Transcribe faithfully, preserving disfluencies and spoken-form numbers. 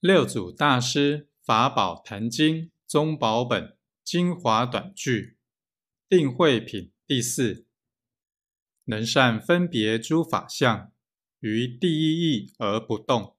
六祖大师法宝坛经宗宝本精华短句定慧品第四，能善分别诸法相，于第一义而不动。